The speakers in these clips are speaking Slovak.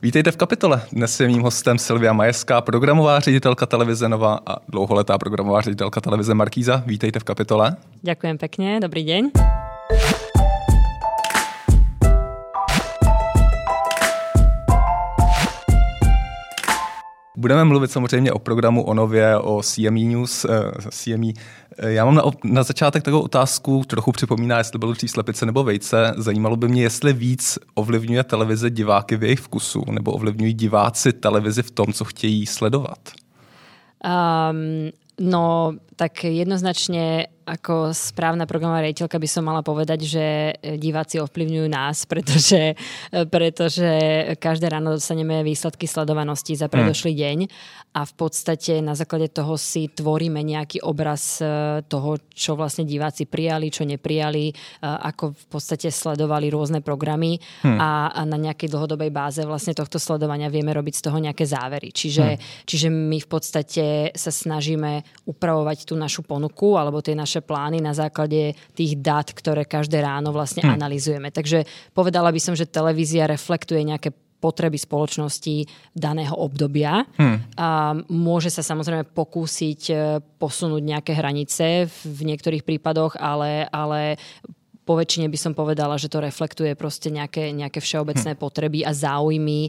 Vítejte v Kapitole. Dnes je mým hostem Silvia Majerská, programová ředitelka televize Nova a dlouholetá programová ředitelka televize Markíza. Vítejte v Kapitole. Ďakujem pekne, dobrý deň. Budeme mluvit samozřejmě o programu, o Nově, o CME News. Já mám na začátek takovou otázku, trochu připomíná, jestli bylo dřív slepice nebo vejce. Zajímalo by mě, jestli víc ovlivňuje televize diváky v jejich vkusu, nebo ovlivňují diváci televizi v tom, co chtějí sledovat? No, tak jednoznačne ako správna programová riaditeľka by som mala povedať, že diváci ovplyvňujú nás, pretože každé ráno dostaneme výsledky sledovanosti za predošlý deň a v podstate na základe toho si tvoríme nejaký obraz toho, čo vlastne diváci prijali, čo neprijali, ako v podstate sledovali rôzne programy a na nejakej dlhodobej báze vlastne tohto sledovania vieme robiť z toho nejaké závery. Čiže my v podstate sa snažíme upravovať tú našu ponuku alebo tie naše plány na základe tých dát, ktoré každé ráno vlastne analyzujeme. Takže povedala by som, že televízia reflektuje nejaké potreby spoločnosti daného obdobia. A môže sa samozrejme pokúsiť posunúť nejaké hranice v niektorých prípadoch, ale po väčšine by som povedala, že to reflektuje proste nejaké všeobecné potreby a záujmy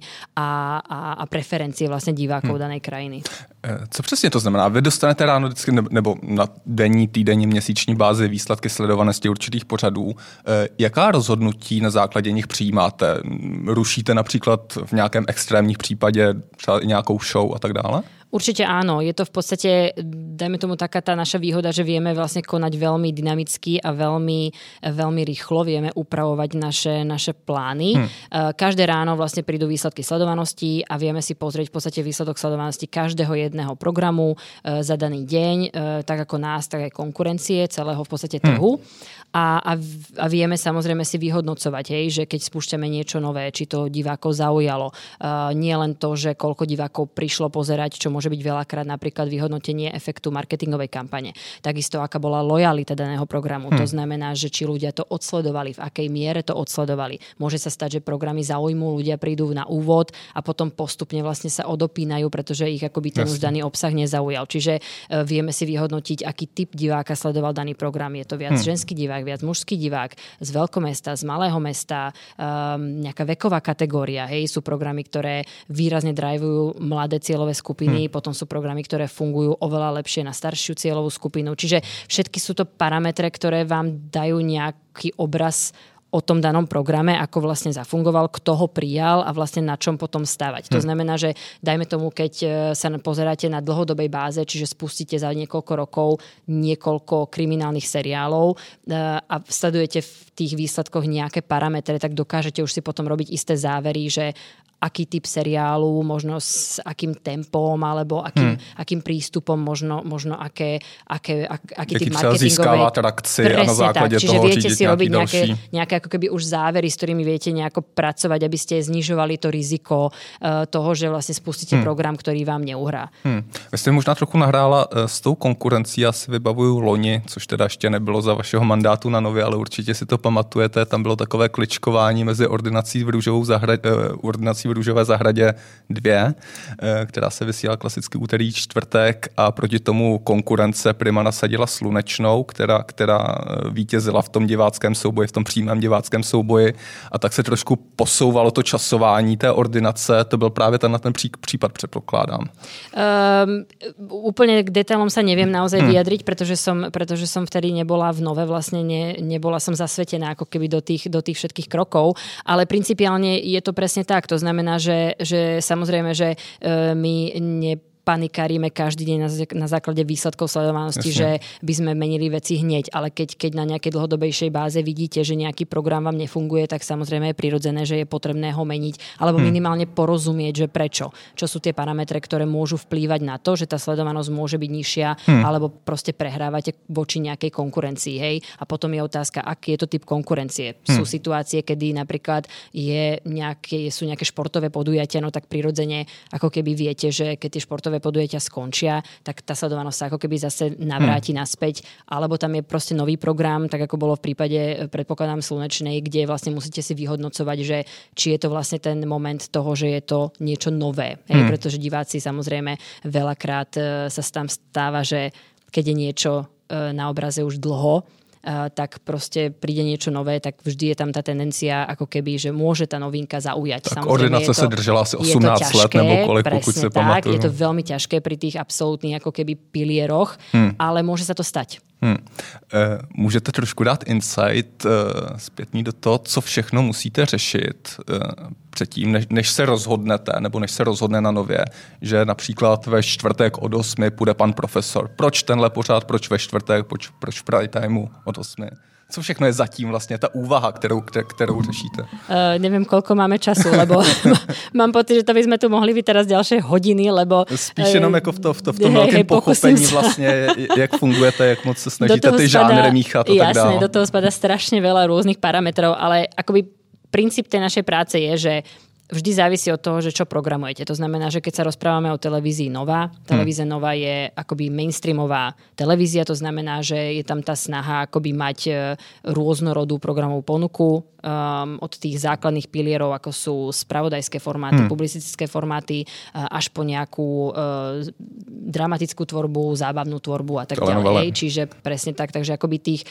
a preferencie vlastne divákov danej krajiny. Co přesně to znamená? Vy dostanete ráno vždycky nebo na denní, týdenní, měsíční bázi výsledky sledovanosti určitých pořadů. Jaká rozhodnutí na základě nich přijímáte? Rušíte například v nějakém extrémních případě třeba i nějakou show a tak dále? Určite áno. Je to v podstate, dajme tomu taká tá naša výhoda, že vieme vlastne konať veľmi dynamicky a veľmi rýchlo. Vieme upravovať naše plány. Každé ráno vlastne prídu výsledky sledovanosti a vieme si pozrieť v podstate výsledok sledovanosti každého jedného programu za daný deň, tak ako nás, tak aj konkurencie, celého v podstate trhu. A vieme samozrejme si vyhodnocovať, že keď spúšťame niečo nové, či to divákov zaujalo. Nie len to, že koľko divákov prišlo pozerať, čo môže byť veľakrát napríklad vyhodnotenie efektu marketingovej kampane. Takisto, aká bola lojalita daného programu. To znamená, že či ľudia to odsledovali, v akej miere to odsledovali. Môže sa stať, že programy zaujmú, ľudia prídu na úvod a potom postupne vlastne sa odopínajú, pretože ich akoby ten už daný obsah nezaujal. Čiže vieme si vyhodnotiť, aký typ diváka sledoval daný program. Je to viac ženský divák, viac mužský divák, z veľkomesta, z malého mesta, nejaká veková kategória. Sú programy, ktoré výrazne drivujú mladé cieľové skupiny, potom sú programy, ktoré fungujú oveľa lepšie na staršiu cieľovú skupinu. Čiže všetky sú to parametre, ktoré vám dajú nejaký obraz o tom danom programe, ako vlastne zafungoval, kto ho prijal a vlastne na čom potom stavať. To znamená, že dajme tomu, keď sa pozeráte na dlhodobej báze, čiže spustíte za niekoľko rokov niekoľko kriminálnych seriálov a sledujete v tých výsledkoch nejaké parametre, tak dokážete už si potom robiť isté závery, že aký typ seriálu, možno s akým tempom, alebo akým prístupom, možno aký typ marketingovej. Získava trakci a na základe toho viete si robiť nejaké ako keby už závery, s ktorými viete nejako pracovať, aby ste znižovali to riziko toho, že vlastne spustíte program, ktorý vám neuhrá. Vy jste možná trochu nahrála s tou konkurencí, já si vybavuju loni, což teda ještě nebylo za vašeho mandátu na Nově, ale určitě si to pamatujete, tam bylo takové kličkování mezi ordinací v Růžové zahradě 2, která se vysílala klasicky úterý, čtvrtek a proti tomu konkurence Prima nasadila Slunečnou, která vítězila v tom diváckém souboji, v tom přímém diváckém souboji a tak se trošku posouvalo to časování té ordinace. To byl právě ten případ, předpokládám. Úplne k detailom sa neviem naozaj vyjadriť, pretože som vtedy nebola v Nove, vlastne nebola som zasvetená ako keby do tých všetkých krokov, ale principiálne je to presne tak. To znamená, že samozrejme, že my panikárime každý deň na základe výsledkov sledovanosti, že by sme menili veci hneď, ale keď na nejakej dlhodobejšej báze vidíte, že nejaký program vám nefunguje, tak samozrejme je prirodzené, že je potrebné ho meniť, alebo minimálne porozumieť, že prečo. Čo sú tie parametre, ktoré môžu vplývať na to, že tá sledovanosť môže byť nižšia, alebo proste prehrávate voči nejakej konkurencii, hej? A potom je otázka, aký je to typ konkurencie. Sú situácie, kedy napríklad sú nejaké športové podujatia, no tak prirodzene, ako keby viete, že keď tie športové športové podujatia skončia, tak tá sledovanosť sa ako keby zase navráti naspäť, alebo tam je proste nový program, tak ako bolo v prípade, predpokladám, Slnečnej, kde vlastne musíte si vyhodnocovať, že či je to vlastne ten moment toho, že je to niečo nové. Pretože diváci samozrejme veľakrát sa tam stáva, že keď je niečo na obraze už dlho, tak proste príde niečo nové, tak vždy je tam tá tendencia, ako keby, že môže tá novinka zaujať. Tak ordinace sa držala asi 18 let nebo kolik, pokud si pamatuju. Je to veľmi ťažké pri tých absolútnych ako keby pilieroch, ale môže sa to stať. Můžete trošku dát insight zpětný do toho, co všechno musíte řešit předtím, než se rozhodnete, nebo než se rozhodne na Nově, že například ve čtvrtek od 8 půjde pan profesor. Proč tenhle pořád, proč ve čtvrtek, proč v prime timeu od 8? Co všechno je zatím vlastně ta úvaha, kterou řešíte? Neviem, koľko máme času, lebo mám pocit, že to by sme tu mohli byť teraz ďalšie hodiny, lebo... Spíš jenom jako v tom velkém pochopení vlastně, jak fungujete, jak moc se snažíte ty žánry míchat a tak dále. Jasné, do toho spadá strašne veľa rôznych parametrov, ale akoby princíp tej našej práce je, že vždy závisí od toho, že čo programujete. To znamená, že keď sa rozprávame o televízii Nova, televízia Nova je akoby mainstreamová televízia, to znamená, že je tam tá snaha akoby mať rôznorodú programovú ponuku od tých základných pilierov, ako sú spravodajské formáty, publicistické formáty, až po nejakú dramatickú tvorbu, zábavnú tvorbu a tak ďalej. Čiže presne tak, takže akoby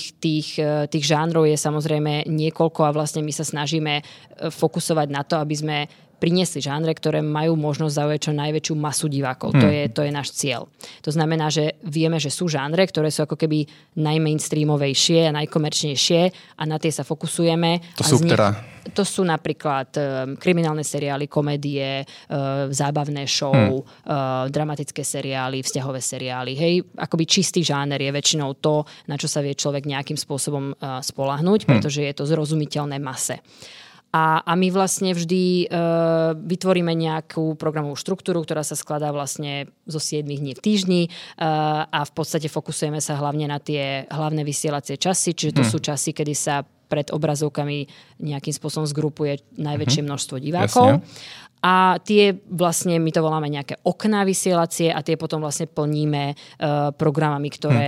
tých žánrov je samozrejme niekoľko a vlastne my sa snažíme fokusovať na to, aby sme priniesli žánre, ktoré majú možnosť zaujať čo najväčšiu masu divákov. To je náš cieľ. To znamená, že vieme, že sú žánre, ktoré sú ako keby najmainstreamovejšie a najkomerčnejšie a na tie sa fokusujeme. To sú ktoré? To sú napríklad kriminálne seriály, komédie, zábavné show, dramatické seriály, vzťahové seriály. Hej, akoby čistý žáner je väčšinou to, na čo sa vie človek nejakým spôsobom spoľahnúť, pretože je to zrozumiteľné mase. A my vlastne vždy vytvoríme nejakú programovú štruktúru, ktorá sa skladá vlastne zo 7 dní v týždni a v podstate fokusujeme sa hlavne na tie hlavné vysielacie časy, čiže to sú časy, kedy sa pred obrazovkami nejakým spôsobom zgrupuje najväčšie množstvo divákov. Jasne. A tie vlastne, my to voláme nejaké okná vysielacie a tie potom vlastne plníme programami,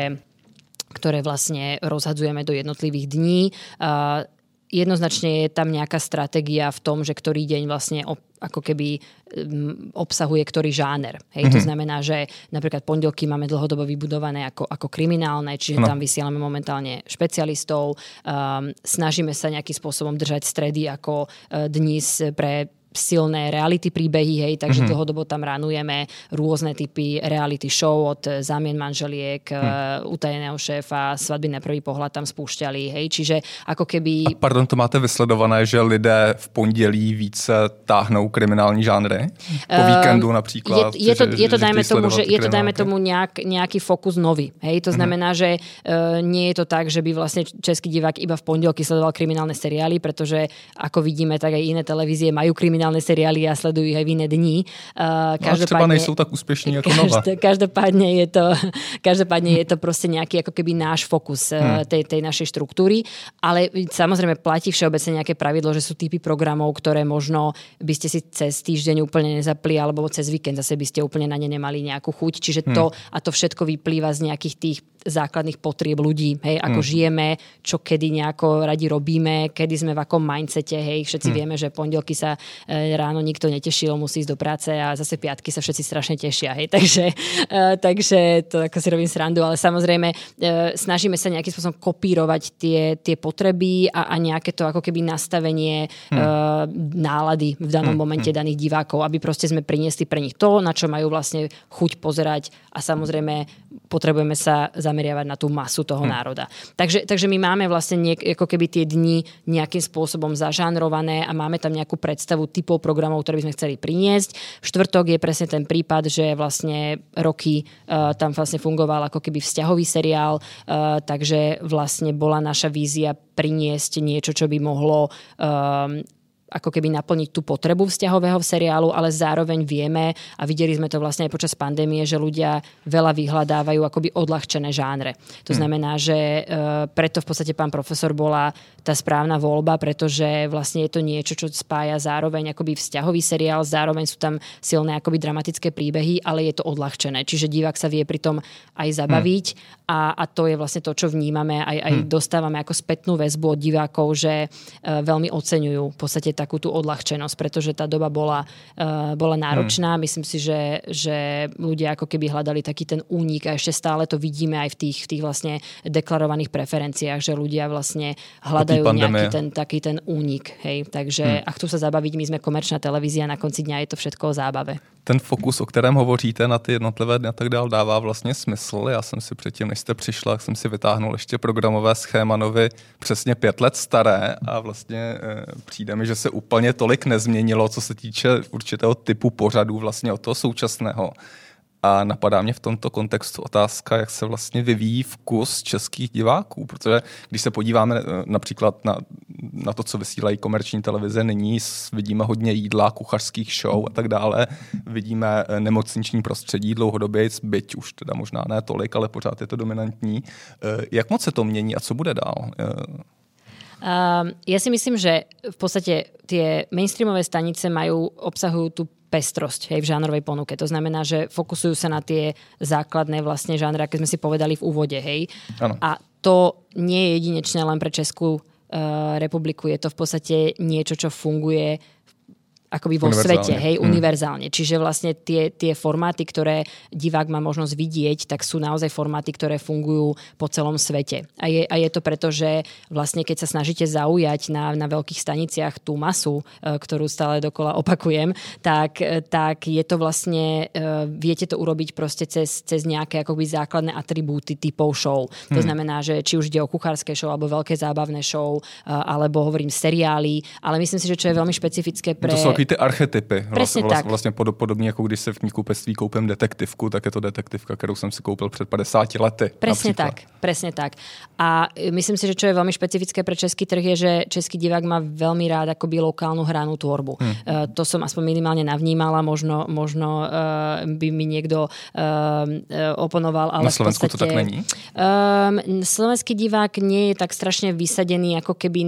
ktoré vlastne rozhadzujeme do jednotlivých dní. Jednoznačne je tam nejaká stratégia v tom, že ktorý deň vlastne ako keby obsahuje ktorý žáner. Hej, to znamená, že napríklad pondelky máme dlhodobo vybudované ako kriminálne, čiže tam vysielame momentálne špecialistov. Snažíme sa nejakým spôsobom držať stredy ako dnes pre silné reality príbehy, hej, takže dlhodobo tam ránujeme rôzne typy reality show od Zámien manželiek, Utajeného šéfa, Svadby na prvý pohľad tam spúšťali, hej, čiže ako keby... A pardon, to máte vysledované, že lidé v pondělí více táhnou kriminální žánry? Po víkendu například? Je to dajme tomu nejaký fokus nový, hej, to znamená, že nie je to tak, že by vlastne český divák iba v pondelky sledoval kriminálne seriály, pretože ako vidíme, tak aj iné televízie majú kriminálne seriály a sledujú ich aj v iné dni. Třeba nejsou tak úspešní ako Nova. Každopádne je to proste nejaký ako keby náš fokus tej našej štruktúry, ale samozrejme platí všeobecne nejaké pravidlo, že sú typy programov, ktoré možno by ste si cez týždeň úplne nezapli, alebo cez víkend zase by ste úplne na ne nemali nejakú chuť. Čiže to všetko vyplýva z nejakých tých základných potrieb ľudí, hej, ako žijeme, čo kedy nejako radi robíme, kedy sme v akom mindsete, hej, všetci vieme, že pondelky sa ráno nikto netešil, musí ísť do práce a zase piatky sa všetci strašne tešia, hej, takže to ako si robím srandu, ale samozrejme snažíme sa nejakým spôsobom kopírovať tie potreby a nejaké to ako keby nastavenie nálady v danom momente daných divákov, aby proste sme priniesli pre nich to, na čo majú vlastne chuť pozerať a samozrejme potrebujeme sa zameriavať na tú masu toho národa. Takže my máme vlastne ako keby tie dni nejakým spôsobom zažánrované a máme tam nejakú predstavu typov programov, ktoré by sme chceli priniesť. V štvrtok je presne ten prípad, že vlastne roky tam vlastne fungoval ako keby vzťahový seriál, takže vlastne bola naša vízia priniesť niečo, čo by mohlo ako keby naplniť tú potrebu vzťahového seriálu, ale zároveň vieme a videli sme to vlastne aj počas pandémie, že ľudia veľa vyhľadávajú akoby odľahčené žánre. To znamená, že preto v podstate Pán profesor bola tá správna voľba, pretože vlastne je to niečo, čo spája zároveň akoby vzťahový seriál, zároveň sú tam silné akoby dramatické príbehy, ale je to odľahčené. Čiže divák sa vie pritom aj zabaviť a to je vlastne to, čo vnímame, aj dostávame ako spätnú väzbu od divákov, že veľmi oceňujú v podstate takú tú odľahčenosť, pretože tá doba bola náročná. Myslím si, že ľudia ako keby hľadali taký ten únik a ešte stále to vidíme aj v tých vlastne deklarovaných preferenciách, že ľudia vlastne hľadajú nejaký taký ten únik. Hej. Takže ak chcú sa zabaviť, my sme komerčná televízia, na konci dňa je to všetko o zábave. Ten fokus, o kterém hovoříte na ty jednotlivé dny a tak dál, dává vlastně smysl. Já jsem si předtím, než jste přišla, jsem si vytáhnul ještě programové schéma novy přesně 5 let staré a vlastně přijde mi, že se úplně tolik nezměnilo, co se týče určitého typu pořadů vlastně od toho současného. A napadá mě v tomto kontextu otázka, jak se vlastně vyvíjí vkus českých diváků, protože když se podíváme například na to, co vysílají komerční televize nyní, vidíme hodně jídla, kuchařských show a tak dále, vidíme nemocniční prostředí dlouhodobě, byť už teda možná ne tolik, ale pořád je to dominantní. Jak moc se to mění a co bude dál? Ja si myslím, že v podstate tie mainstreamové stanice obsahujú tú pestrosť, hej, v žánrovej ponuke. To znamená, že fokusujú sa na tie základné vlastne žánry, aké sme si povedali v úvode, hej. Ano. A to nie je jedinečné len pre Českú republiku. Je to v podstate niečo, čo funguje akoby vo svete, hej, univerzálne. Čiže vlastne tie formáty, ktoré divák má možnosť vidieť, tak sú naozaj formáty, ktoré fungujú po celom svete. A je to preto, že vlastne keď sa snažíte zaujať na veľkých staniciach tú masu, ktorú stále dokola opakujem, tak je to vlastne, viete to urobiť proste cez nejaké akoby základné atribúty typov show. To znamená, že či už ide o kuchárske show, alebo veľké zábavné show, alebo hovorím seriály, ale myslím si, že čo je veľmi špecifické pre ty archetypy. Vlastně podobně, jako když se v knihkupectví koupím detektivku, tak je to detektivka, kterou jsem si koupil před 50 lety. Presne tak. A myslím si, že čo je veľmi špecifické pre český trh je, že český divák má veľmi rád akoby lokálnu hranú tvorbu. To som aspoň minimálne navnímala, možno by mi niekto oponoval, ale na Slovensku v podstate, to tak není? Slovenský divák nie je tak strašne vysadený ako keby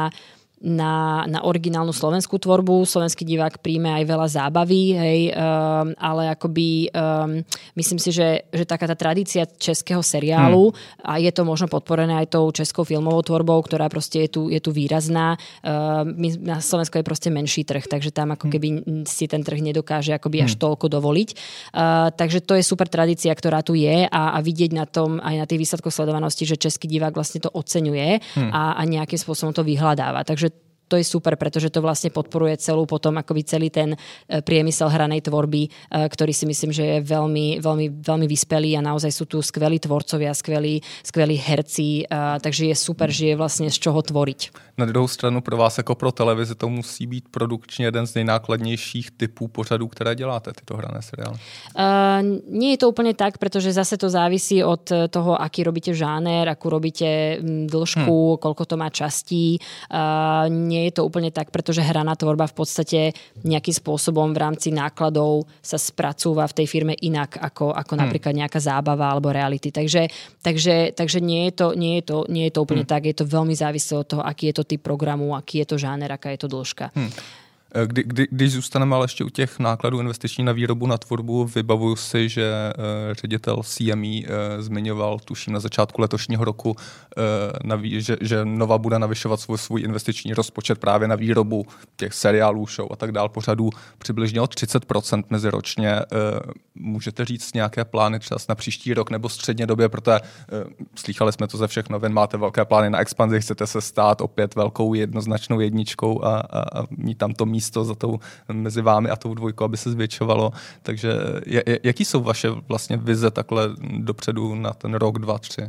na originálnu slovenskú tvorbu. Slovenský divák príjme aj veľa zábavy, hej, ale akoby myslím si, že taká tá tradícia českého seriálu a je to možno podporené aj tou českou filmovou tvorbou, ktorá proste je tu výrazná. Na Slovensku je proste menší trh, takže tam ako keby si ten trh nedokáže akoby až toľko dovoliť. Takže to je super tradícia, ktorá tu je a vidieť na tom aj na tých výsledkoch sledovanosti, že český divák vlastne to oceňuje a nejakým spôsobom to vyhľadáva. Takže to je super, pretože to vlastne podporuje celý ten priemysel hranej tvorby, ktorý si myslím, že je veľmi, veľmi, veľmi vyspelý a naozaj sú tu skvelí tvorcovia, skvelí herci, takže je super, že je vlastne z čoho tvoriť. Na druhou stranu pro vás jako pro televizi to musí být produkčně jeden z nejnákladnějších typů pořadů, které děláte, tyto hrané seriály. Nie je to úplne tak, pretože zase to závisí od toho, aký robíte žáner, akú robíte dĺžku, koľko to má častí. Nie je to úplne tak, pretože hraná tvorba v podstate nejakým spôsobom v rámci nákladov sa spracúva v tej firme inak ako napríklad nejaká zábava alebo reality. Takže nie je to úplne tak. Je to veľmi závislé od toho, aký je to typ programu, aký je to žáner, aká je to dĺžka. Když zůstaneme ale ještě u těch nákladů investiční na výrobu, na tvorbu, vybavuju si, že ředitel CME zmiňoval, tuším na začátku letošního roku, že Nova bude navyšovat svůj investiční rozpočet právě na výrobu těch seriálů, show a tak dál, pořadů přibližně o 30% meziročně. Můžete říct nějaké plány třeba na příští rok nebo středně době, protože slýchali jsme to ze všech novin, máte velké plány na expanzi, chcete se stát opět velkou jednoznačnou jedničkou a mít tam to místo za tou mezi vámi a tou dvojkou, aby se zvětšovalo. Takže jaký jsou vaše vlastně vize takhle dopředu na ten rok, 2, 3?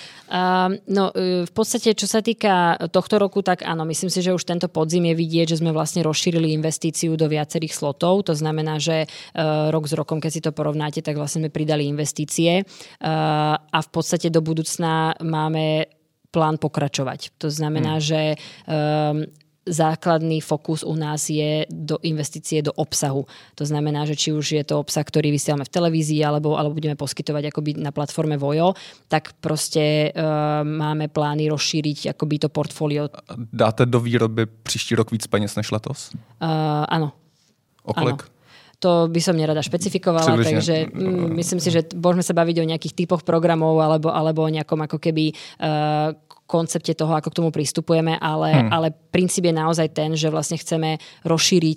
No v podstate, čo sa týka tohto roku, tak áno, myslím si, že už tento podzim je vidieť, že sme vlastne rozšírili investíciu do viacerých slotov. To znamená, že rok s rokom, keď si to porovnáte, tak vlastne sme pridali investície a v podstate do budúcna máme plán pokračovať. To znamená, že základný fokus u nás je do investície do obsahu. To znamená, že či už je to obsah, ktorý vysielame v televízii alebo budeme poskytovať akoby na platforme Vojo, tak proste máme plány rozšíriť akoby to portfólio. Dáte do výroby příští rok víc peněz než letos? Áno. O kolik? Áno. To by som nerada špecifikovala, Přibližne. takže myslím si, že môžeme sa baviť o nejakých typoch programov alebo o nejakom ako keby koncepte toho, ako k tomu pristupujeme, ale princíp je naozaj ten, že vlastne chceme rozšíriť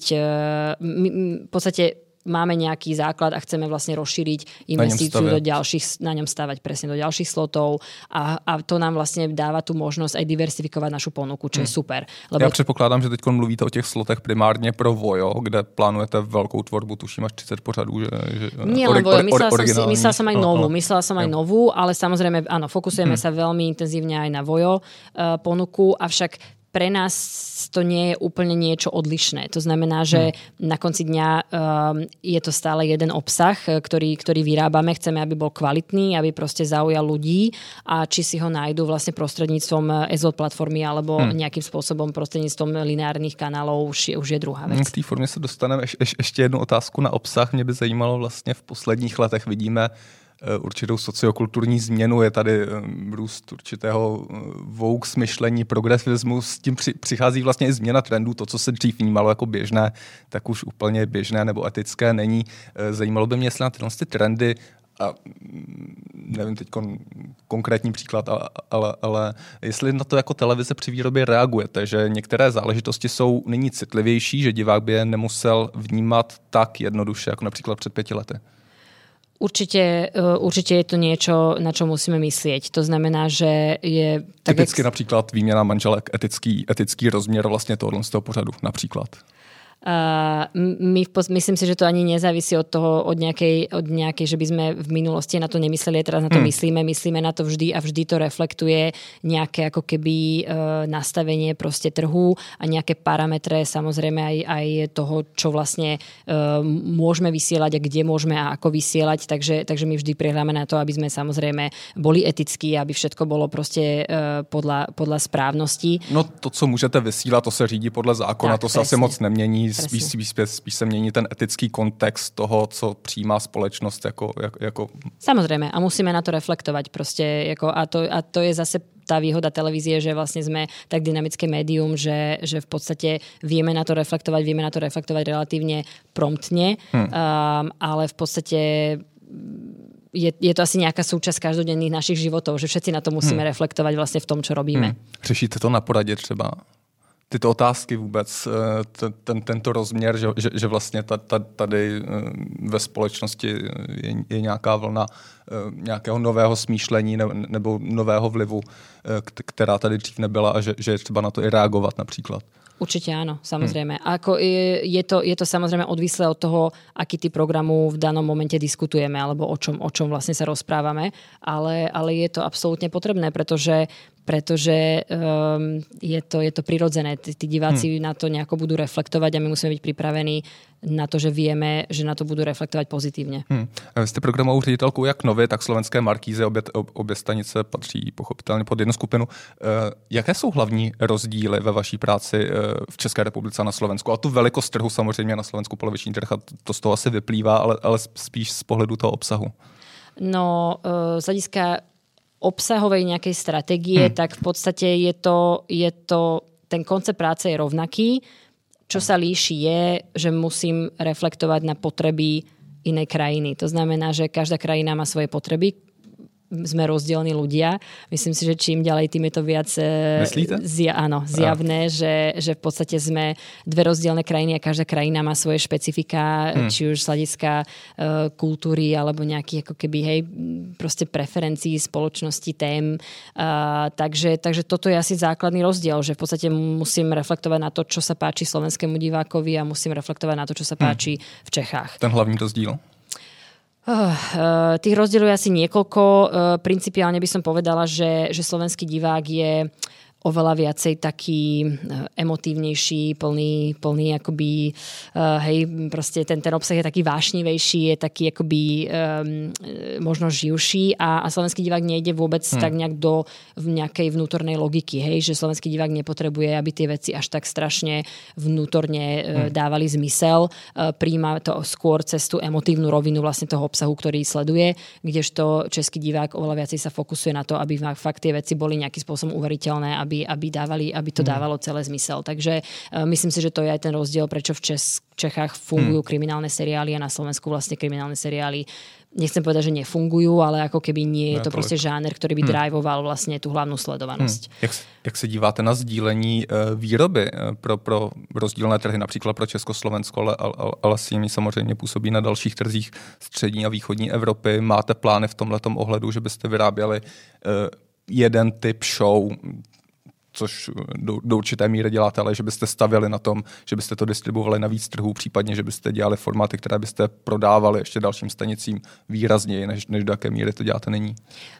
v podstate máme nejaký základ a chceme vlastne rozšíriť investíciu na ňom stavať presne do ďalších slotov a to nám vlastne dáva tú možnosť aj diversifikovať našu ponuku, čo je super. Lebo... Já předpokládám, že teď mluvíte o těch slotech primárně pro Vojo, kde plánujete velkou tvorbu, tuším až 30 pořadů. Nie len Vojo, myslela som aj novú, ale samozrejme, áno, fokusujeme sa veľmi intenzívne aj na Vojo ponuku, avšak pre nás to nie je úplne niečo odlišné. To znamená, že na konci dňa je to stále jeden obsah, ktorý vyrábame. Chceme, aby bol kvalitný, aby proste zaujal ľudí a či si ho nájdú vlastne prostredníctvom SVOD platformy alebo nejakým spôsobom prostredníctvom lineárnych kanálov už je druhá vec. K té formě se dostaneme. Ještě jednu otázku na obsah. Mě by zajímalo vlastně v posledních letech vidíme určitou sociokulturní změnu, je tady růst určitého woke smyšlení, progresivismu, s tím přichází vlastně i změna trendů, to, co se dřív vnímalo jako běžné, tak už úplně běžné nebo etické není. Zajímalo by mě, jestli na tyhle trendy, a nevím teď konkrétní příklad, ale jestli na to jako televize při výrobě reagujete, že některé záležitosti jsou nyní citlivější, že divák by je nemusel vnímat tak jednoduše, jako například před 5 lety. Určite je to niečo, na čo musíme myslieť. To znamená, že je... Typicky například výměna manželek, etický rozměr vlastně tohoto z toho pořadu například. Myslím si, že to ani nezávisí od toho, od nejakej, že by sme v minulosti na to nemysleli, teraz na to myslíme na to vždy a vždy to reflektuje nejaké ako keby nastavenie proste trhu a nejaké parametre, samozrejme aj toho, čo vlastne môžeme vysielať a kde môžeme a ako vysielať, takže my vždy prihľadáme na to, aby sme samozrejme boli etickí, aby všetko bolo proste podľa správnosti. No to, co můžete vysílat, to se řídí podle zákona, tak, to se asi moc nemění. Spíš se mění ten etický kontext toho, co přijímá společnost jako... Samozrejme, a musíme na to reflektovať proste, a to je zase tá výhoda televízie, že vlastne sme tak dynamické médium, že v podstate vieme na to reflektovať relatívne promptne, ale v podstate je to asi nejaká súčasť každodenných našich životov, že všetci na to musíme reflektovať vlastne v tom, čo robíme. Řešíte to na poradě třeba? Tyto otázky vůbec, tento rozměr, že vlastně tady ve společnosti je nějaká vlna nějakého nového smýšlení nebo nového vlivu, která tady dřív nebyla a že je třeba na to i reagovat například. Určite áno, samozrejme. Ako je to samozrejme odvislé od toho, aký typ programu v danom momente diskutujeme alebo o čom vlastne sa rozprávame, ale je to absolútne potrebné, pretože je to prirodzené. Tí diváci na to nejako budú reflektovať a my musíme byť pripravení na to, že vieme, že na to budú reflektovať pozitívne. Vy ste programovou ředitelkou jak Nově, tak Slovenské Markízy, obě stanice patří pochopitelně pod jednu skupinu. Jaké jsou hlavní rozdíly ve vaší práci v České republice a na Slovensku? A tu velikost trhu samozřejmě na Slovensku poloviční trh, a to z toho asi vyplývá, ale spíš z pohledu toho obsahu. No, z hlediska obsahovej nejakej stratégie, tak v podstate je to ten koncept práce je rovnaký. Čo sa líši je, že musím reflektovať na potreby inej krajiny. To znamená, že každá krajina má svoje potreby. Sme rozdielní ľudia. Myslím si, že čím ďalej, tým je to viac zjavné, že v podstate sme dve rozdielne krajiny a každá krajina má svoje špecifika, či už z hľadiska kultúry alebo nejakých ako keby, proste preferencií spoločnosti, tém. Takže toto je asi základný rozdiel, že v podstate musím reflektovať na to, čo sa páči slovenskému divákovi a musím reflektovať na to, čo sa páči v Čechách. Ten hlavný rozdíl? Tých rozdielov je asi niekoľko. Principiálne by som povedala, že slovenský divák je oveľa viacej taký emotívnejší, plný akoby, hej, proste ten obsah je taký vášnivejší, je taký akoby možno živší a slovenský divák nejde vôbec tak nejak do nejakej vnútornej logiky, hej, že slovenský divák nepotrebuje, aby tie veci až tak strašne vnútorne dávali zmysel, príjma to skôr cez tú emotívnu rovinu vlastne toho obsahu, ktorý sleduje, kdežto český divák oveľa viacej sa fokusuje na to, aby fakt tie veci boli nejakým spôsobom uveriteľné, aby to dávalo celé zmysel. Takže myslím si, že to je aj ten rozdiel, prečo v Čechách fungujú kriminálne seriály a na Slovensku vlastne kriminálne seriály nechcem povedať, že nefungujú, ale ako keby nie je to prostě žáner, ktorý by drivoval vlastně tu hlavnou sledovanost. Jak se díváte na sdílení výroby pro rozdílné trhy, například pro Československo, ale s nimi samozřejmě působí na dalších trzích střední a východní Evropy. Máte plány v tomhletom ohledu, že byste vyráběli jeden typ show, což do určité míry děláte, ale že byste stavěli na tom, že byste to distribuovali na víc trhů, případně, že byste dělali formáty, které byste prodávali ještě dalším stanicím výrazněji, než do jaké míry to děláte nyní?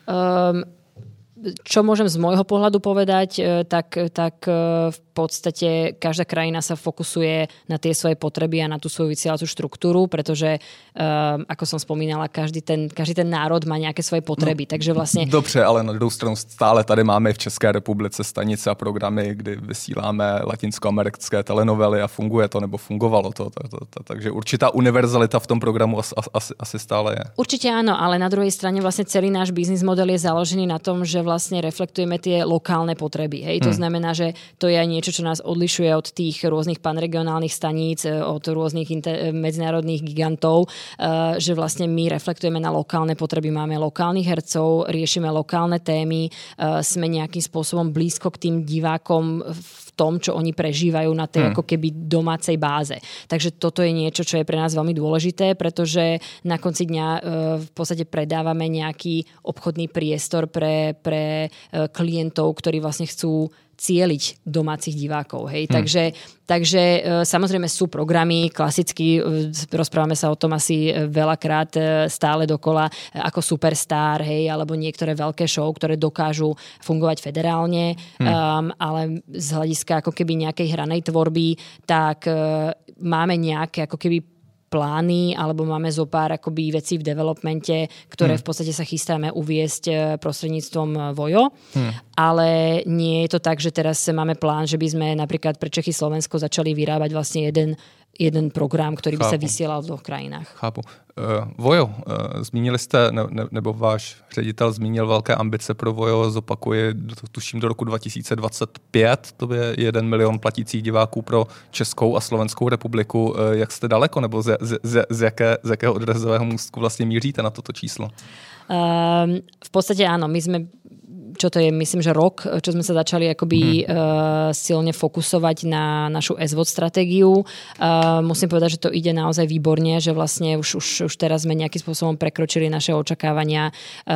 Čo môžem z môjho pohľadu povedať, tak v podstate každá krajina sa fokusuje na tie svoje potreby a na tú svoju vysielacú štruktúru, pretože, ako som spomínala, každý ten národ má nejaké svoje potreby. Takže vlastne... Dobře, ale na druhou stranu stále tady máme v České republice stanice a programy, kdy vysíláme latinskoamerické telenovely a funguje to, nebo fungovalo to. Takže určitá univerzalita v tom programu asi stále je. Určite áno, ale na druhej strane vlastne celý náš biznis model je založený na tom, že vlastne reflektujeme tie lokálne potreby. Hej? To znamená, že to je aj niečo, čo nás odlišuje od tých rôznych panregionálnych staníc, od rôznych medzinárodných gigantov, že vlastne my reflektujeme na lokálne potreby. Máme lokálnych hercov, riešime lokálne témy, sme nejakým spôsobom blízko k tým divákom v tom, čo oni prežívajú na tej ako keby domácej báze. Takže toto je niečo, čo je pre nás veľmi dôležité, pretože na konci dňa v podstate predávame nejaký obchodný priestor pre klientov, ktorí vlastne chcú cieliť domácich divákov. Hej? Takže samozrejme sú programy, klasicky rozprávame sa o tom asi veľakrát stále dokola, ako Superstar, hej, alebo niektoré veľké show, ktoré dokážu fungovať federálne, ale z hľadiska ako keby nejakej hranej tvorby, tak máme nejaké ako keby plány, alebo máme zo pár akoby vecí v developmente, ktoré v podstate sa chystáme uviesť prostredníctvom Vojo. Ale nie je to tak, že teraz máme plán, že by sme napríklad pre Čechy Slovensko začali vyrábať vlastne jeden program, ktorý by sa vysielal v dvoch krajinách. Chápu. Vojo, zmínili jste, nebo váš ředitel zmínil velké ambice pro Vojo, zopakuje, tuším do roku 2025, to je 1 milion platících diváků pro Českou a Slovenskou republiku. Jak jste daleko, nebo z jakého odrazového můstku vlastně míříte na toto číslo? V podstate áno, my sme čo to je, myslím, že rok, čo sme sa začali akoby silne fokusovať na našu SVOD stratégiu. Musím povedať, že to ide naozaj výborne, že vlastne už teraz sme nejakým spôsobom prekročili naše očakávania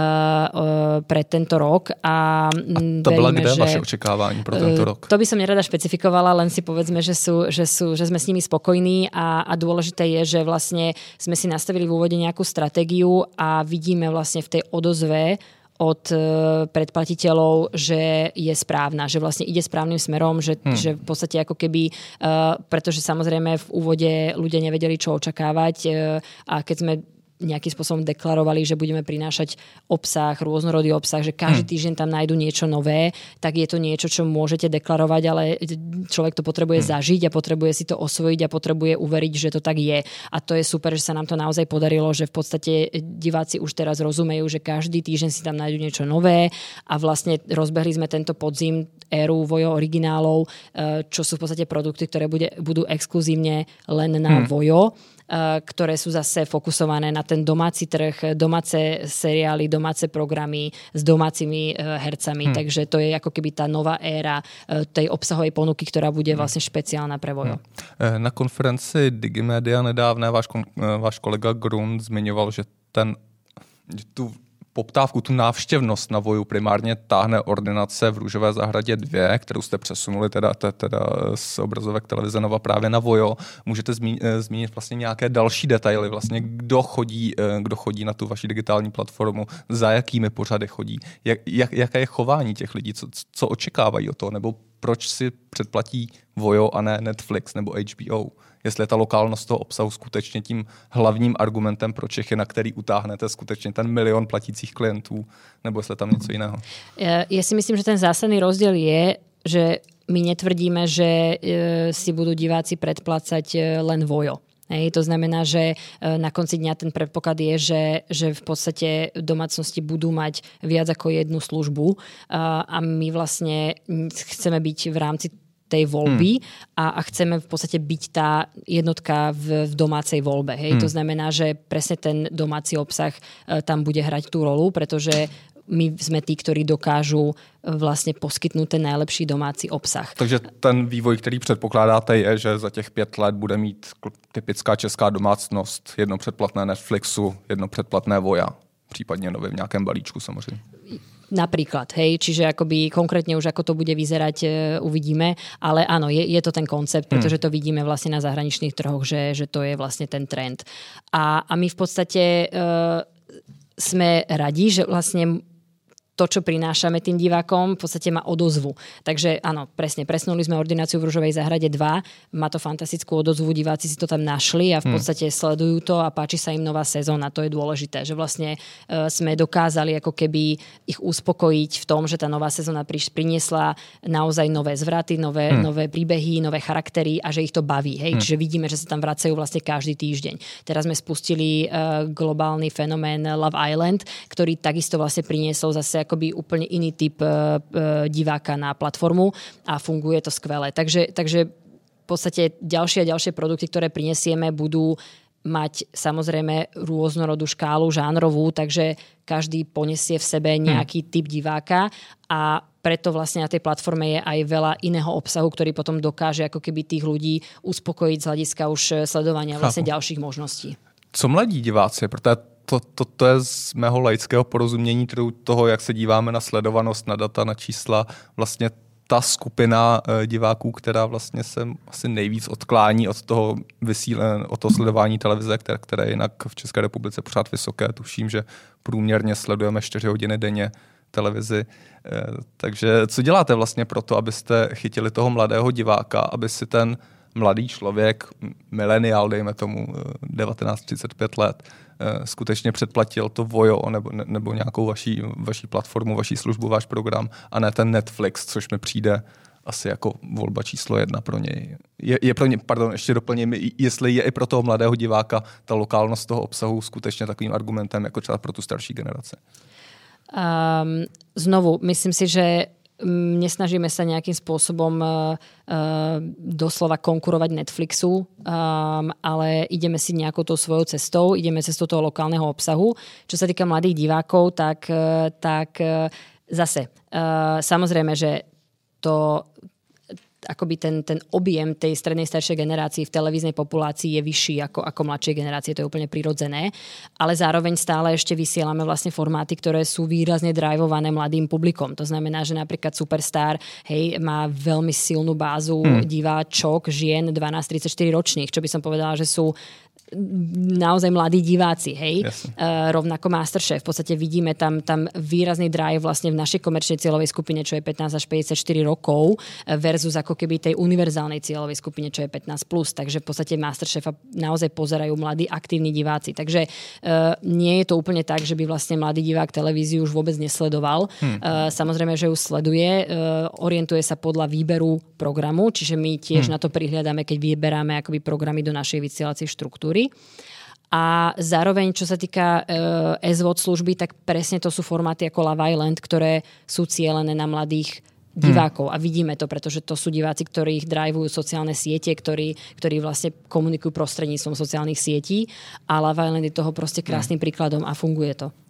pre tento rok. A to byla kde vaše očekávání pro tento rok? To by som nerada špecifikovala, len si povedzme, že sme s nimi spokojní a dôležité je, že vlastne sme si nastavili v úvode nejakú stratégiu a vidíme vlastne v tej odozve od predplatiteľov, že je správna, že vlastne ide správnym smerom, že v podstate ako keby, pretože samozrejme v úvode ľudia nevedeli, čo očakávať a keď sme nejakým spôsobom deklarovali, že budeme prinášať obsah, rôznorodý obsah, že každý týždeň tam nájdu niečo nové, tak je to niečo, čo môžete deklarovať, ale človek to potrebuje zažiť a potrebuje si to osvojiť a potrebuje uveriť, že to tak je. A to je super, že sa nám to naozaj podarilo, že v podstate diváci už teraz rozumejú, že každý týždeň si tam nájdu niečo nové a vlastne rozbehli sme tento podzim éru Vojo originálov, čo sú v podstate produkty, ktoré budú exkluzívne len na Vojo, ktoré sú zase fokusované na ten domáci trh, domáce seriály, domáce programy s domácimi hercami. Takže to je ako keby tá nová éra tej obsahovej ponuky, ktorá bude vlastne špeciálna pre Vojo. Na konferenci Digimedia nedávné váš kolega Grund zmiňoval, že tu poptávku, tu návštěvnost na Voju primárně táhne ordinace v Růžové zahradě 2, kterou jste přesunuli teda z obrazovek televize Nova právě na Vojo. Můžete zmínit vlastně nějaké další detaily, vlastně kdo chodí na tu vaši digitální platformu, za jakými pořady chodí, jaké je chování těch lidí, co očekávají od toho, nebo proč si předplatí Vojo a ne Netflix nebo HBO. Jestli je ta lokálnost toho obsahu skutečně tím hlavním argumentem pro Čechy, na který utáhnete skutečně ten 1 milion platících klientů, nebo jestli tam něco jiného. Ja si myslím, že ten zásadný rozdiel je, že my netvrdíme, že si budú diváci predplácať len Vojo. Hej, to znamená, že na konci dňa ten predpoklad je, že v podstate domácnosti budú mať viac ako jednu službu a my vlastne chceme byť v rámci tej voľby a chceme v podstate byť tá jednotka v domácej voľbe. Hej? To znamená, že presne ten domáci obsah tam bude hrať tú rolu, pretože my sme tí, ktorí dokážu vlastně poskytnout ten nejlepší domácí obsah. Takže ten vývoj, který předpokládáte, je, že za těch 5 let bude mít typická česká domácnost jedno předplatné Netflixu, jedno předplatné Voja, případně nově v nějakém balíčku samozřejmě. Napríklad, hej, čiže akoby konkrétne už ako to bude vyzerať, uvidíme, ale áno, je to ten koncept, pretože to vidíme vlastne na zahraničných trhoch, že to je vlastne ten trend. A my v podstate sme radi, že vlastne to, čo prinášame tým divákom, v podstate má odozvu. Takže áno, presne, presnuli sme ordináciu v Ružovej záhrade 2, má to fantastickú odozvu, diváci si to tam našli a v podstate sledujú to a páči sa im nová sezóna. To je dôležité, že vlastne sme dokázali ako keby ich uspokojiť v tom, že tá nová sezóna priniesla naozaj nové zvraty, nové príbehy, nové charaktery a že ich to baví. Hej? Čiže vidíme, že sa tam vracajú vlastne každý týždeň. Teraz sme spustili globálny fenomén Love Island, ktorý takisto vlastne priniesol zase akoby úplne iný typ diváka na platformu a funguje to skvelé. Takže v podstate ďalšie a ďalšie produkty, ktoré prinesieme, budú mať samozrejme rôznorodú škálu žánrovú, takže každý poniesie v sebe nejaký typ diváka a preto vlastne na tej platforme je aj veľa iného obsahu, ktorý potom dokáže ako keby tých ľudí uspokojiť z hľadiska už sledovania vlastne ďalších možností. Co mladí diváci? Protože to je z mého laického porozumění toho, jak se díváme na sledovanost, na data, na čísla, vlastně ta skupina diváků, která vlastně se asi nejvíc odklání od toho sledování televize, které je jinak v České republice pořád vysoké. Tuším, že průměrně sledujeme 4 hodiny denně televizi. Takže co děláte vlastně pro to, abyste chytili toho mladého diváka, aby si ten mladý člověk, mileniál, dejme tomu 19-35 let, skutečně předplatil to Vojo nebo nějakou vaší platformu, vaší službu, váš program a ne ten Netflix, což mi přijde asi jako volba číslo 1 pro něj. Je pro ně, ještě doplním, jestli je i pro toho mladého diváka ta lokálnost toho obsahu skutečně takovým argumentem, jako třeba pro tu starší generaci. Znovu, myslím si, že nesnažíme sa nejakým spôsobom doslova konkurovať Netflixu, ale ideme si nejakou tou svojou cestou, ideme cestou toho lokálneho obsahu. Čo sa týka mladých divákov, tak zase, samozrejme, že to akoby ten objem tej strednej staršej generácii v televíznej populácii je vyšší ako mladšej generácie, to je úplne prirodzené, ale zároveň stále ešte vysielame vlastne formáty, ktoré sú výrazne drivované mladým publikom. To znamená, že napríklad Superstar, hej, má veľmi silnú bázu diváčok, žien 12-34 ročných, čo by som povedala, že sú naozaj mladí diváci, hej. Rovnako Masterchef. V podstate vidíme tam výrazný drive vlastne v našej komerčnej cieľovej skupine, čo je 15 až 54 rokov versus ako keby tej univerzálnej cieľovej skupine, čo je 15+. Takže v podstate Masterchefa naozaj pozerajú mladí aktívni diváci. Takže nie je to úplne tak, že by vlastne mladý divák televíziu už vôbec nesledoval. Samozrejme, že ju sleduje, orientuje sa podľa výberu programu, čiže my tiež na to prihliadame, keď vyberáme akoby programy do našej vysielacej štruktúry. A zároveň, čo sa týka SVOD služby, tak presne to sú formáty ako Love Island, ktoré sú cielené na mladých divákov. A vidíme to, pretože to sú diváci, ktorých drivujú sociálne siete, ktorí vlastne komunikujú prostredníctvom sociálnych sietí. A Love Island je toho proste krásnym príkladom a funguje to.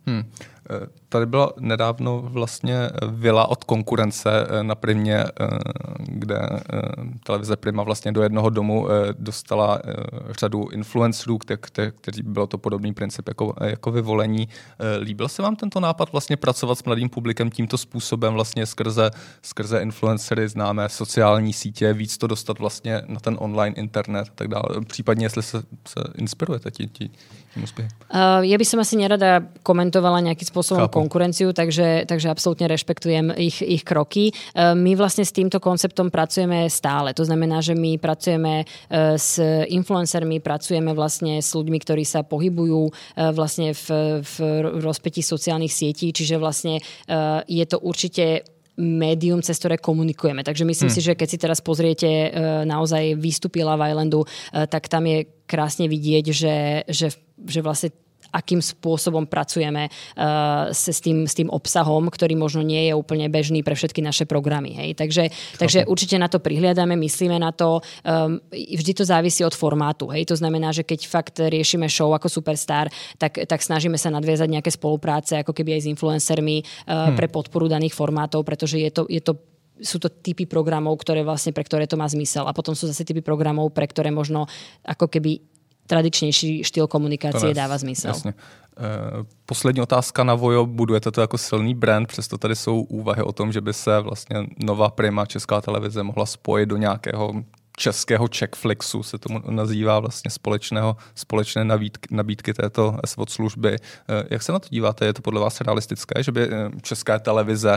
Tady byla nedávno vlastně vila od konkurence na Primě, kde televize Prima vlastně do jednoho domu dostala řadu influencerů, kteří bylo to podobný princip jako vyvolení. Líbil se vám tento nápad vlastně pracovat s mladým publikem tímto způsobem vlastně skrze influencery, známé sociální sítě, víc to dostat vlastně na ten online internet a tak dále. Případně, jestli se inspirujete tím úspěchem. Ja by som asi nerada komentovala nejakým spôsobom konkurenciu, takže absolútne rešpektujem ich kroky. My vlastne s týmto konceptom pracujeme stále. To znamená, že my pracujeme s influencermi, pracujeme vlastne s ľuďmi, ktorí sa pohybujú vlastne v rozpätí sociálnych sietí, čiže vlastne je to určite médium, cez ktoré komunikujeme. Takže myslím si, že keď si teraz pozriete naozaj výstupy Love Islandu, tak tam je krásne vidieť, že vlastne akým spôsobom pracujeme s tým obsahom, ktorý možno nie je úplne bežný pre všetky naše programy. Hej? Takže určite na to prihliadame, myslíme na to. Vždy to závisí od formátu. Hej? To znamená, že keď fakt riešime show ako Superstar, tak snažíme sa nadviazať nejaké spolupráce, ako keby aj s influencermi pre podporu daných formátov, pretože sú to typy programov, pre ktoré to má zmysel. A potom sú zase typy programov, pre ktoré možno ako keby tradičnější štýl komunikace dává smysl. Jasně. Poslední otázka na Vojo. Budujete to jako silný brand, přesto tady jsou úvahy o tom, že by se vlastně nová Prima, Česká televize, mohla spojit do nějakého českého Czechflixu, se tomu nazývá vlastně společné nabídky této SVOD služby. Jak se na to díváte? Je to podle vás realistické, že by České televize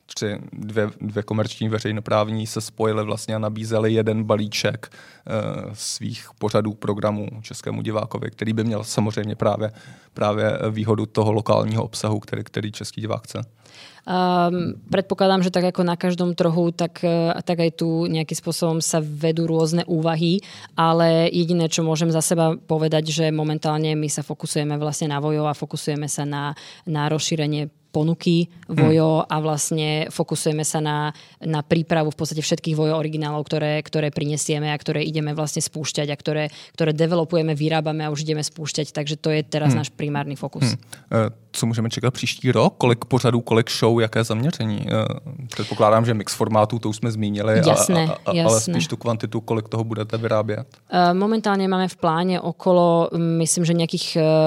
dvě komerční veřejnoprávní se spojily vlastně a nabízely jeden balíček svých pořadů, programů českému divákovi, který by měl samozřejmě právě výhodu toho lokálního obsahu, který český divák chce? Predpokladám, že tak ako na každom trhu, tak aj tu nejakým spôsobom sa vedú rôzne úvahy, ale jediné, čo môžem za seba povedať, že momentálne my sa fokusujeme vlastne na Vojo a fokusujeme sa na rozšírenie ponuky Vojo a vlastne fokusujeme sa na prípravu v podstate všetkých Vojo originálov, ktoré prinesieme a ktoré ideme vlastne spúšťať a ktoré developujeme, vyrábame a už ideme spúšťať, takže to je teraz náš primárny fokus. Co můžeme čekat příští rok? Kolik pořadů, kolik show, jaké zaměření? Předpokládám, že mix formátů, to už jsme zmínili, jasné. Ale spíš tu kvantitu, kolik toho budete vyrábět? Momentálne máme v pláne okolo, myslím, že nejakých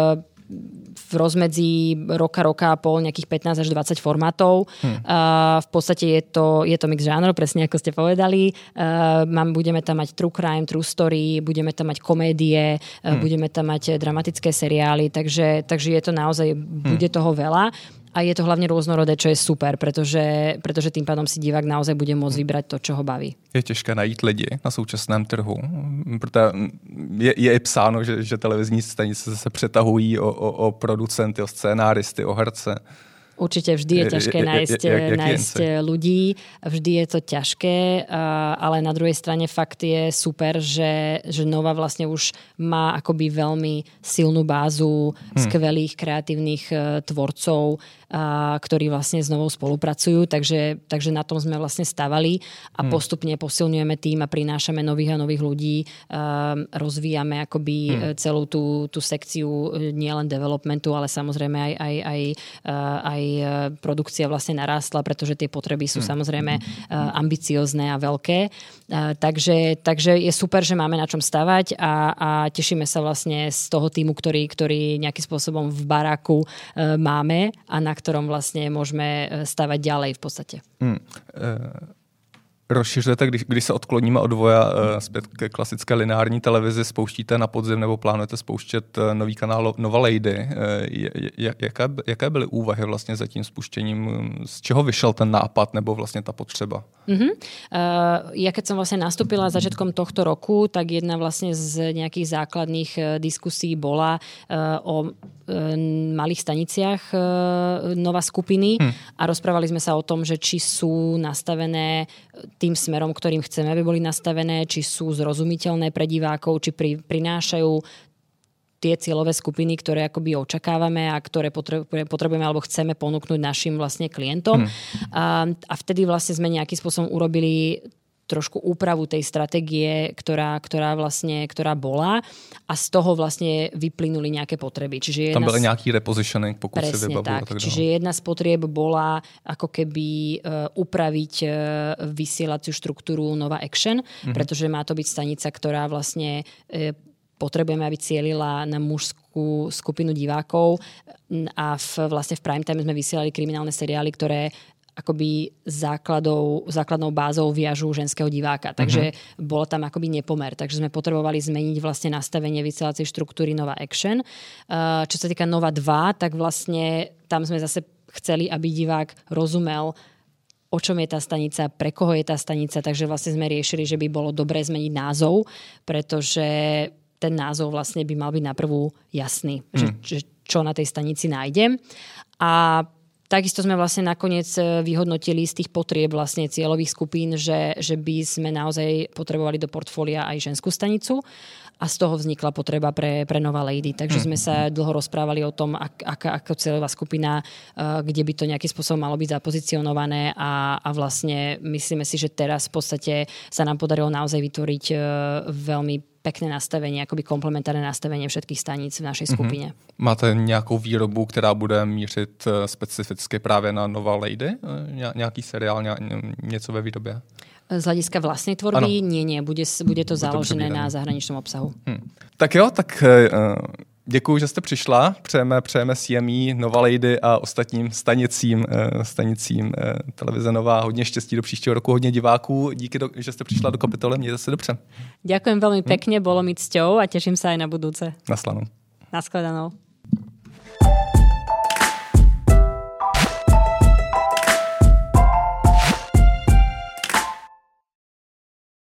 v rozmedzi roka a pol nejakých 15 až 20 formátov. V podstate je to mix žánrov, presne ako ste povedali. Budeme tam mať true crime, true story, budeme tam mať komédie, budeme tam mať dramatické seriály, takže je to naozaj, bude toho veľa. A je to hlavne rôznorodé, čo je super, pretože tým pádom si divák naozaj bude môcť vybrať to, čo ho baví. Je těžké najít lidi na současném trhu, protože je psáno, že televizní stanice se přetahují o producenty, o scénáristy, o herce. Určite vždy je ťažké nájsť ľudí, vždy je to ťažké, ale na druhej strane fakt je super, že Nova vlastne už má akoby veľmi silnú bázu skvelých kreatívnych tvorcov, ktorí vlastne s Novou spolupracujú, takže na tom sme vlastne stavali a postupne posilňujeme tým a prinášame nových a nových ľudí, rozvíjame akoby celú tú sekciu nielen developmentu, ale samozrejme aj produkcia vlastne narástla, pretože tie potreby sú samozrejme ambiciozne a veľké. Takže je super, že máme na čom stavať a tešíme sa vlastne z toho týmu, ktorý nejakým spôsobom v baráku máme a na ktorom vlastne môžeme stavať ďalej v podstate. Rozšiřujete, když se odkloníme od Voja zpět ke klasické lineární televizi, spouštíte na podzim nebo plánujete spouštět nový kanál Nova Lady. Jaké byly úvahy vlastně za tím spuštěním? Z čeho vyšel ten nápad nebo vlastně ta potřeba? Ja keď som vlastne nastúpila začiatkom tohto roku, tak jedna vlastne z nejakých základných diskusí bola o malých staniciach Nova skupiny a rozprávali sme sa o tom, že či sú nastavené tým smerom, ktorým chceme, aby boli nastavené, či sú zrozumiteľné pre divákov, či prinášajú tie cieľové skupiny, ktoré akoby očakávame a ktoré potrebujeme alebo chceme ponúknuť našim vlastne klientom. A vtedy vlastne sme nejakým spôsobom urobili trošku úpravu tej stratégie, ktorá bola a z toho vlastne vyplynuli nejaké potreby. Čiže tam byl nejaký repositioning, pokud si vybavujú. Tak. Čiže jedna z potrieb bola ako keby upraviť vysielaciu štruktúru Nova Action, pretože má to byť stanica, ktorá vlastne potrebujeme, aby cielila na mužskú skupinu divákov a vlastne v prime time sme vysielali kriminálne seriály, ktoré akoby základnou bázou viažu ženského diváka. Takže bolo tam akoby nepomer. Takže sme potrebovali zmeniť vlastne nastavenie vysielacej štruktúry Nova Action. Čo sa týka Nova 2, tak vlastne tam sme zase chceli, aby divák rozumel, o čom je tá stanica, pre koho je tá stanica. Takže vlastne sme riešili, že by bolo dobré zmeniť názov, pretože ten názov vlastne by mal byť na prvú jasný, že čo na tej stanici nájdem. A takisto sme vlastne nakoniec vyhodnotili z tých potrieb vlastne cieľových skupín, že by sme naozaj potrebovali do portfólia aj ženskú stanicu a z toho vznikla potreba pre Nova Lady. Takže sme sa dlho rozprávali o tom, ako cieľová skupina, kde by to nejakým spôsobom malo byť zapozicionované a vlastne myslíme si, že teraz v podstate sa nám podarilo naozaj vytvoriť veľmi pekné nastavenie, akoby komplementárne nastavenie všetkých staníc v našej skupine. Máte nějakou výrobu, která bude mířit specificky právě na Nova Lady? Nějaký seriál, něco ve výrobě? Z hlediska vlastnej tvorby? Nie. Bude to založené na zahraničnom obsahu. Tak jo, tak děkuju, že jste přišla. Přejeme CME, Nova Lady a ostatním stanicím televize Nova hodně štěstí do příštího roku, hodně diváků. Díky, že jste přišla do Kapitoly, mějte se dobře. Ďakujem veľmi pekne, bolo mi cťou a teším sa aj na budúce. Naschledanou. Naschledanou.